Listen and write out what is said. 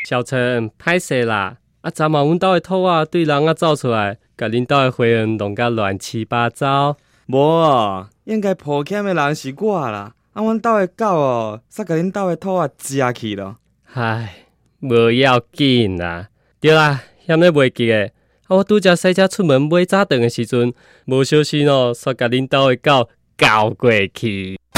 小陈，歹势啦！昨晚阮兜的兔仔对人仔走出来，甲恁兜的花园弄甲乱七八糟。 无，应该抱歉的人是我啦。阮兜的狗哦，煞甲恁兜的兔仔食去咯。 唉，无要紧啦。对啦，险咧袂记诶。我拄则驶车出门买早顿的时阵，无小心煞甲恁兜的狗咬过去。